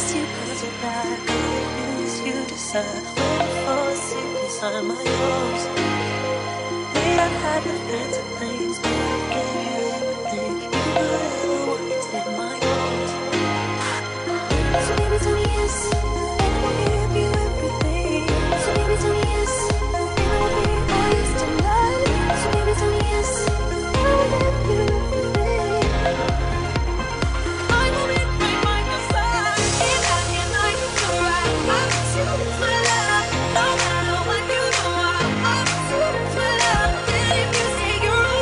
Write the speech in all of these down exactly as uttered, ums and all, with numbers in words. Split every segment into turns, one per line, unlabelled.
you cause you're back. Good news you decide. Waiting for a secret sign my yours. May I have your fancy things, but I gave you everything. You can do whatever want, you take my yours. So baby tell me yes, and I will give you everything. So baby tell me yes, and I will be all yours tonight. So baby tell me yes, and I will give you everything. I will be right by your side, and I can I can right. I want you my love, no matter what you do. I want you my love, and if you say you're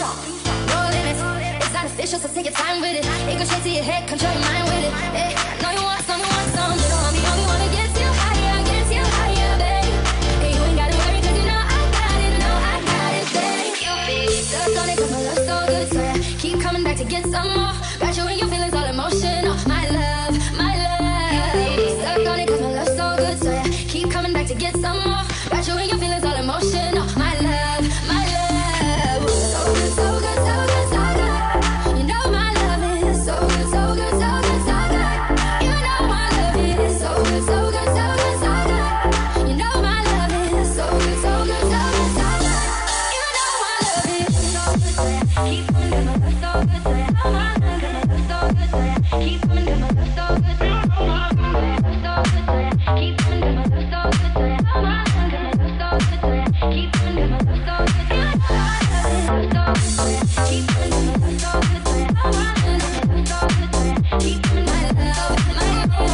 No limits, it's artificial, so take your time with it. It goes straight to your head, control your mind with it. Hey, I know you want some, you want some. You know I'm the only one that gets you higher, gets you higher, babe. Hey, you ain't gotta worry, cause you know I got it, know I got it, babe. You be stuck on it, cause my love's so good, so yeah, keep coming back to get some more. Got you in your feelings, all emotional. My love, my love. Stuck on it, cause my love's so good, so yeah, keep coming back to get some more. Got you in your feelings, all emotional. My love, my love. So good, so good, so good, so good. You know my love is so good, so good, so good, so good. You know my love is so good, so good, so good, so good. You know my love is so good, so good, so good, so good. You know my love is so good, so yeah, keep coming down my love, so good, so yeah. Oh my love, my love, so good, so yeah, keep coming down my love, so good, so yeah. Oh my love, so good, so yeah, keep coming down my love, so good, so yeah. Oh my love, my love, so good, so yeah, keep coming down my love, so good, so yeah. Keep coming down my love, so good, so yeah. Oh my love, my love, so good, so yeah, keep coming down my love, so good, so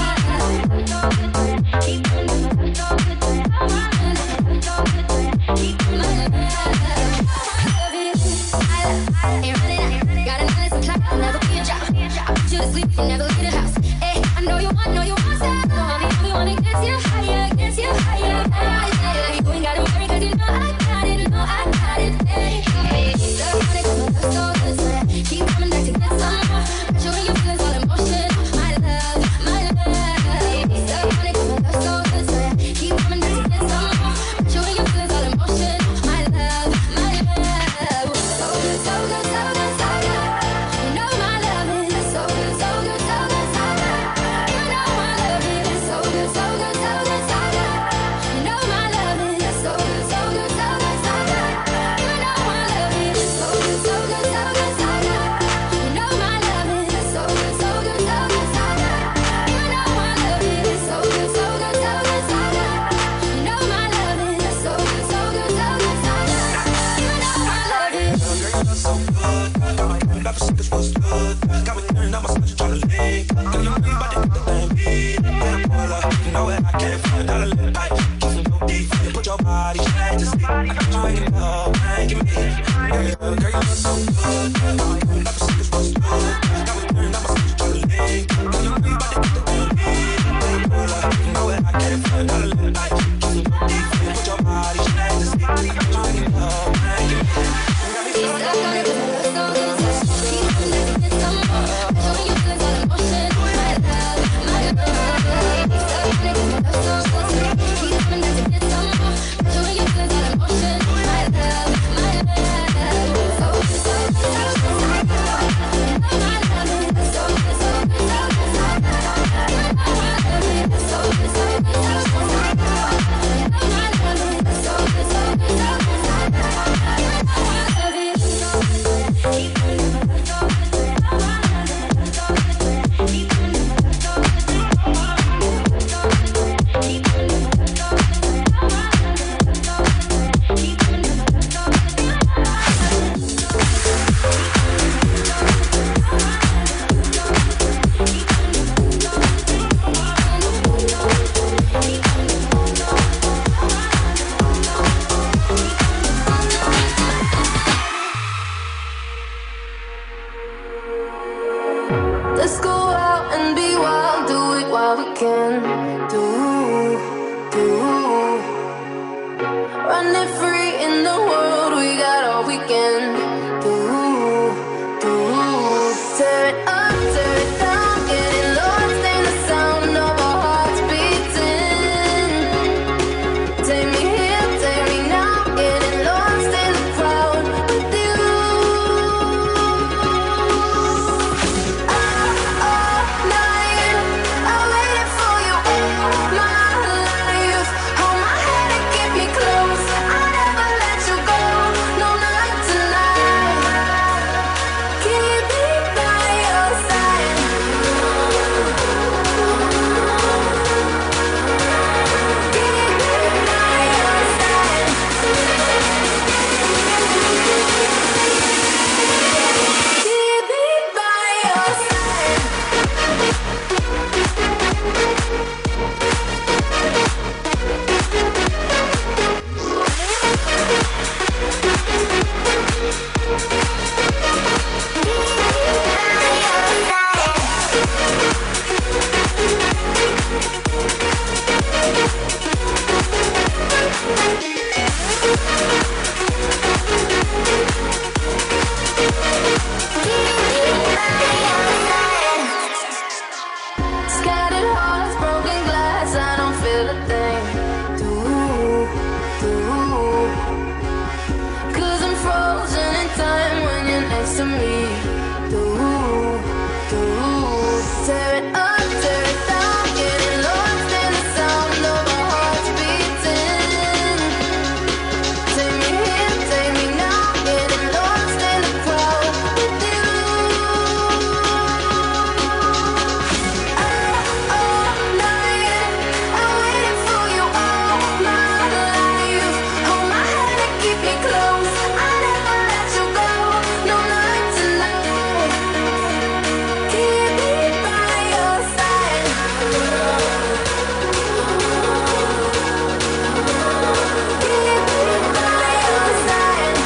yeah. Keep coming down my love, so good, so yeah. Oh my love, my love, so good, so yeah, keep coming down my love, so good, so yeah. I love it, I love, ain't running out. Got a nice clock, I'll never be a job. I put you to sleep, you never leave the house. Hey, I know you want, know you want that. No, I'm the only one that gets you higher, gets you higher. Hey, you ain't gotta worry, cause you know I got it, know I got it. Hey, stuck on it, cause my love's so good, so yeah, keep coming back to get some more. Got you in your feelings, all emotion. My love, my love. Stuck on it, cause my love's so good, so yeah, keep coming back to get some more. Got you in your feelings, all emotion. My love, my love. So good, so good, so good, so good. You know my love is so good, so good, so good, so good. You know my love is so good, so good, so good, so good. You know my love is so good, so good, so good, so good. You know my love is so good, so good, so good, so good. You know my love is so good, so good, so good, so good. You know my love is so good, so good, so good, so good. You know my love is so good, so good, so good, so good. You know my love is.
Girl, you look so good. Got my mind off secrets was good. Got me turned on my switch tryna leave. Girl, you know about to get the thing beat. When I pull up, you know that I can't find out a little tight. Kissing your deep, you put your body straight to sleep. I got you waking up, making me. Girl, you girl, you look so good. Got my mind off secrets was good. Got me turned on my switch tryna leave. Girl, you know about to get the thing beat. When I pull up, you know that I can't find out a little tight. Kissing your deep, you put your body straight to sleep. I got you waking up, making me.
Stuck on it, cause my love's so good, so yeah, keep coming back to get some more. Got you in your feelings, all emotion. My love, my love. Stuck on it, cause my love's so good, so yeah, keep coming back to get some more. Got you in your feelings, all emotion. My love, my love. So good, so good, so close to me. Do, do, tear it up, tear it down, getting lost in the sound of our hearts beating. Take me here, take me now, getting lost in the crowd with you. All night, I'm waiting for you all my life. Hold my hand and keep me close. I never let you go. No night tonight. Keep me by your side. Keep me by your side.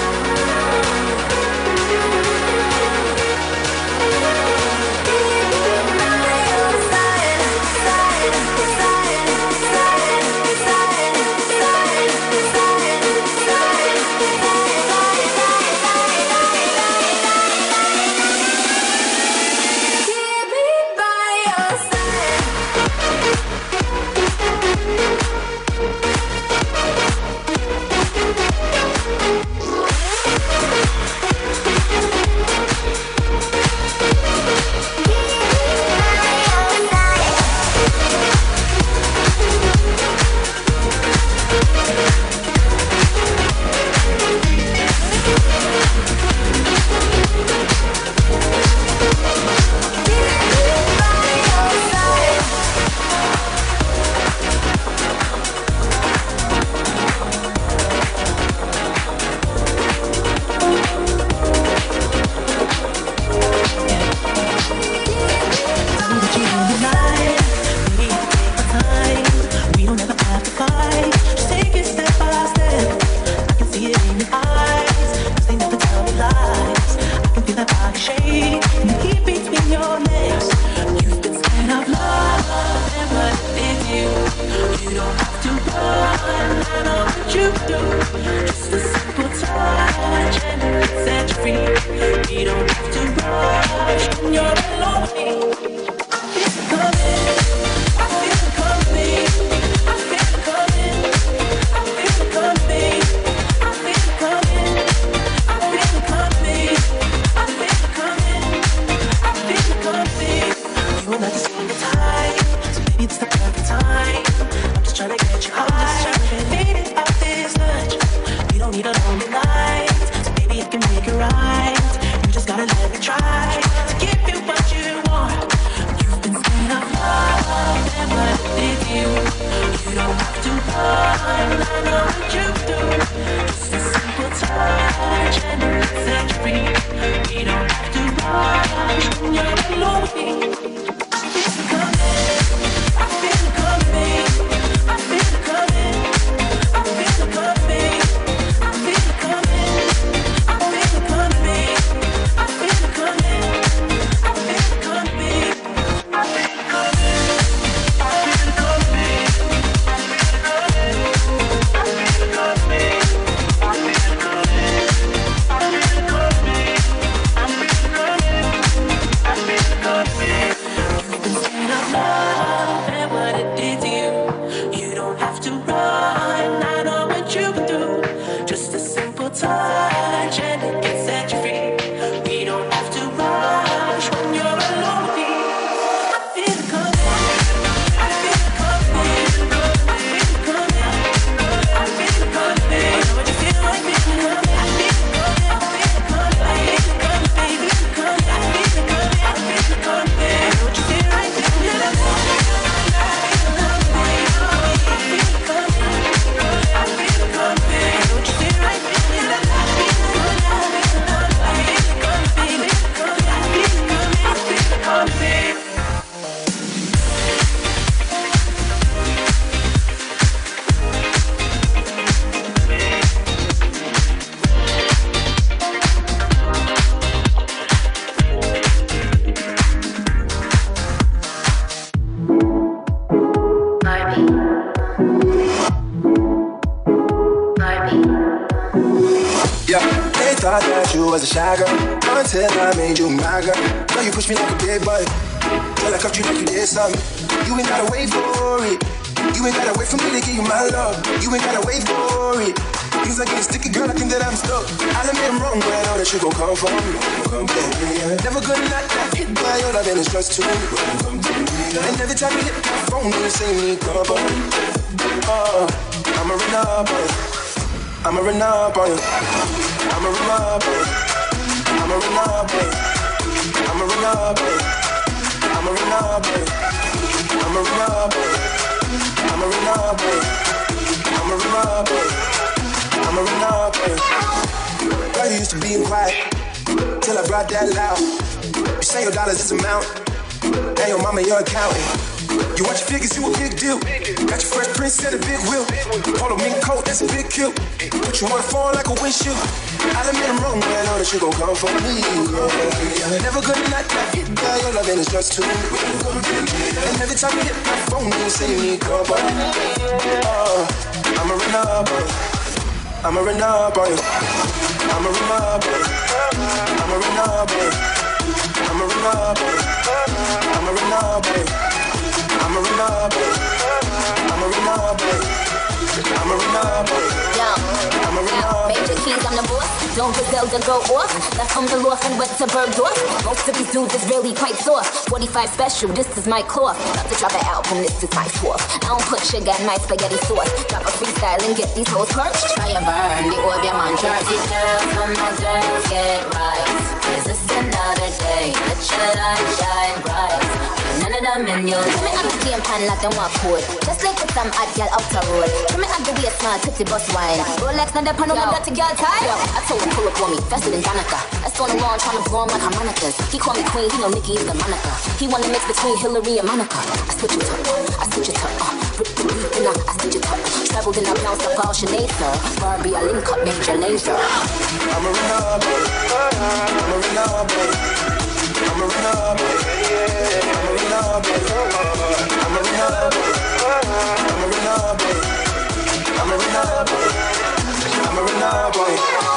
Thought that you was a shy girl until I made you my girl. Now you push me like a big boy till I cuffed you like you did something. You ain't gotta wait for it. You ain't gotta wait for me to give you my love. You ain't gotta wait for it. Things are getting sticky, girl, I think that I'm stuck. I'll admit I'm wrong, but I know that you gon' come for me. Come to me, yeah. Never gonna not not hit by your love and it's just too. Come to me, yeah. And every time you hit my phone, you say me come on. Oh, I'ma run up on you. I'ma run up on you. I'ma run up on you. I'ma run up on you. I'ma run up on you. I'ma run up on you. I'ma run up on you. I'ma run up on you. I'ma run up on you. I'ma run up on you. Girl, you used to being quiet till I brought that loud. You say your dollars is amount, and your mama your accountant. You watch your figures, you a big deal. Got your fresh prince and a big wheel. Polo mink coat, that's a big kill. Put you on the phone like a windshield. I'll admit I'm wrong, but I know that you gon' come for me. Yeah. Never gonna not not hit by your love and it's just too. And every time you hit my phone, you say you need come on. Oh, I'ma run up on you. I'ma run up on you. I'ma run up on you. I'ma run up on you. I'ma run up on you. I'ma run up on you. I'ma run up on you. I'ma run up on you. I'ma run up on you. I'ma run up on you.
Major keys, I'm the boss. Don't Griselda go off. Left from the loft and went to Bergdorf. Most of these dudes is really quite soft. forty-five special, this is my cloth. About to drop an album, this is my fourth. I don't put sugar in my spaghetti sauce. Drop a freestyle and get these hoes perched. Try and burn the orb, your man. Dirty girls from my girls get right. Is this another day? Let your light shine bright. None of them in your Tell me I'm the game pan like them walk code. Just like with some hot girl out the road. Tell me I'm the way small, tipsy bus wine. Rolex, not the pan on my dirty girl tie. Yo, I told him pull up on me, faster than Danica. That's on the lawn trying to blow him like harmonicas. He call me queen, he know Nicki is the Monica. He wanna mix between Hillary and Monica. I switch it up, I switch it up. Uh, rip the beat and I, I switch it up. Traveled and I bounced up all Sinead, sir. Barbie, I link up, major laser.
I'm a run up, I'm a run up, I'm a run up, I'm a run up, I'm a run up, I'm a run up, I'm a run up, I'm a run up, boy.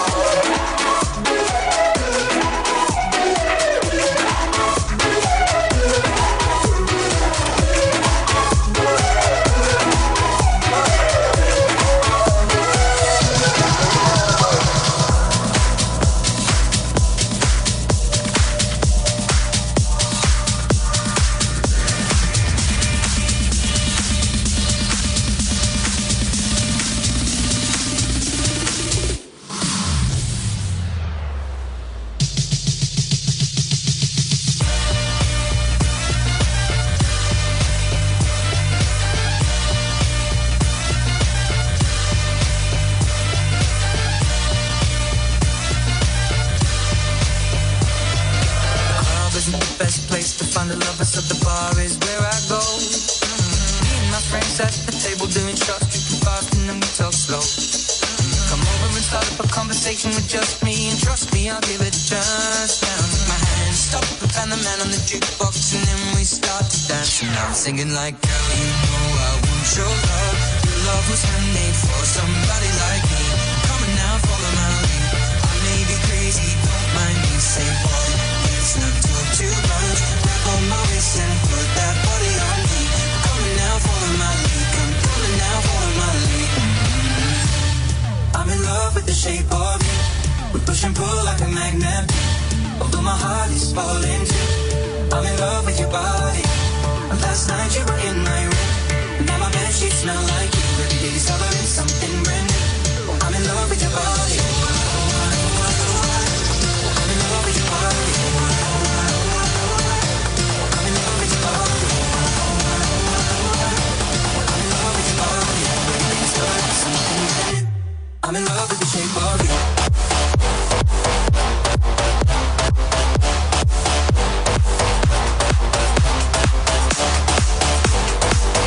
With just me, and trust me, I'll give it a chance. Now take my hand, stop, and the man on the jukebox, and then we start to dance. And I'm singing like, girl, you know I want your love. Your love was handmade for somebody like me. Come on now, follow my lead. I may be crazy, don't mind me. Say, boy, let's not talk too much. Grab on my waist and put that body on me. Come on now, follow my lead. Come, come on now, follow my lead. Mm-hmm. I'm in love with the shape of you. We push and pull like a magnet. Although my heart is falling too. I'm in love with your body. Last night you were in my room. Now my bedsheets smell like you. Every day discovering something brand new. I'm in love with your body. I'm in love with your body. I'm in love with your body. I'm in love with your body. Every day discovering something brand new. I'm in love with the shape of you.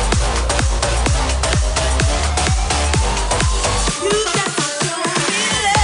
You got to feel it.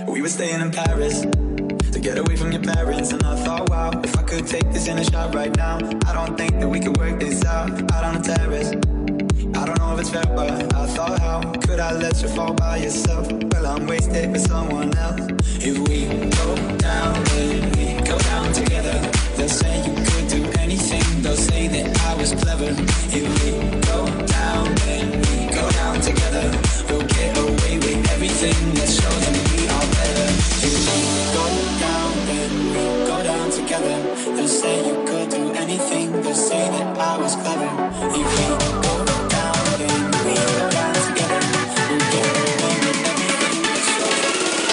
We were staying in Paris to get away from your parents, and I thought, wow, if I could take this in a shot right now, I don't think that we could work this out, out on the terrace. I don't know if it's fair, but I thought, how could I let you fall by yourself? Well, I'm wasted with someone else. If we go down, then we go down together. They'll say you could do anything, they'll say that I was clever. If we go down, then we go down together. We'll get away with everything, let's show them we are better. If we go down, then we go down together. They'll say you could do anything, they'll say that I was clever. If we go down, then we go down together. We'll get away with everything, let's show them.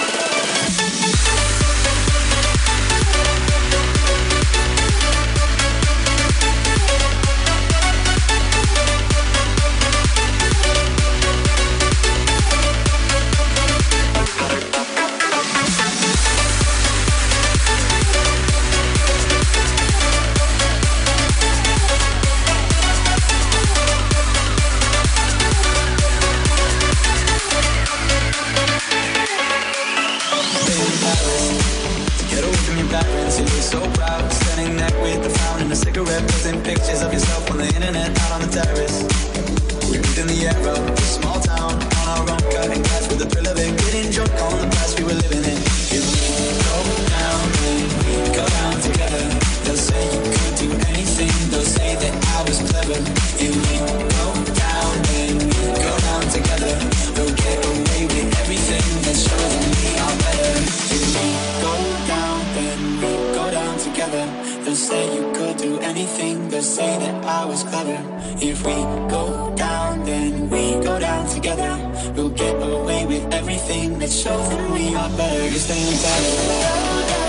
So proud, standing there with the fountain and a cigarette, posting pictures of yourself on the internet, out on the terrace. We lived in the era of a small town, on our own, cutting glass with the thrill of it, getting drunk on the past we were living in. If we go down, then we go down together. They'll say you could do anything, they'll say that I was clever. If we go down, then we go down together. We'll get away with everything, let's show them we are better. If we go down, then we go down together. They'll say you could do anything, they'll say that I was clever. If we go down, then we go down together. We'll get away with everything, let's show them we are better. You're staying better.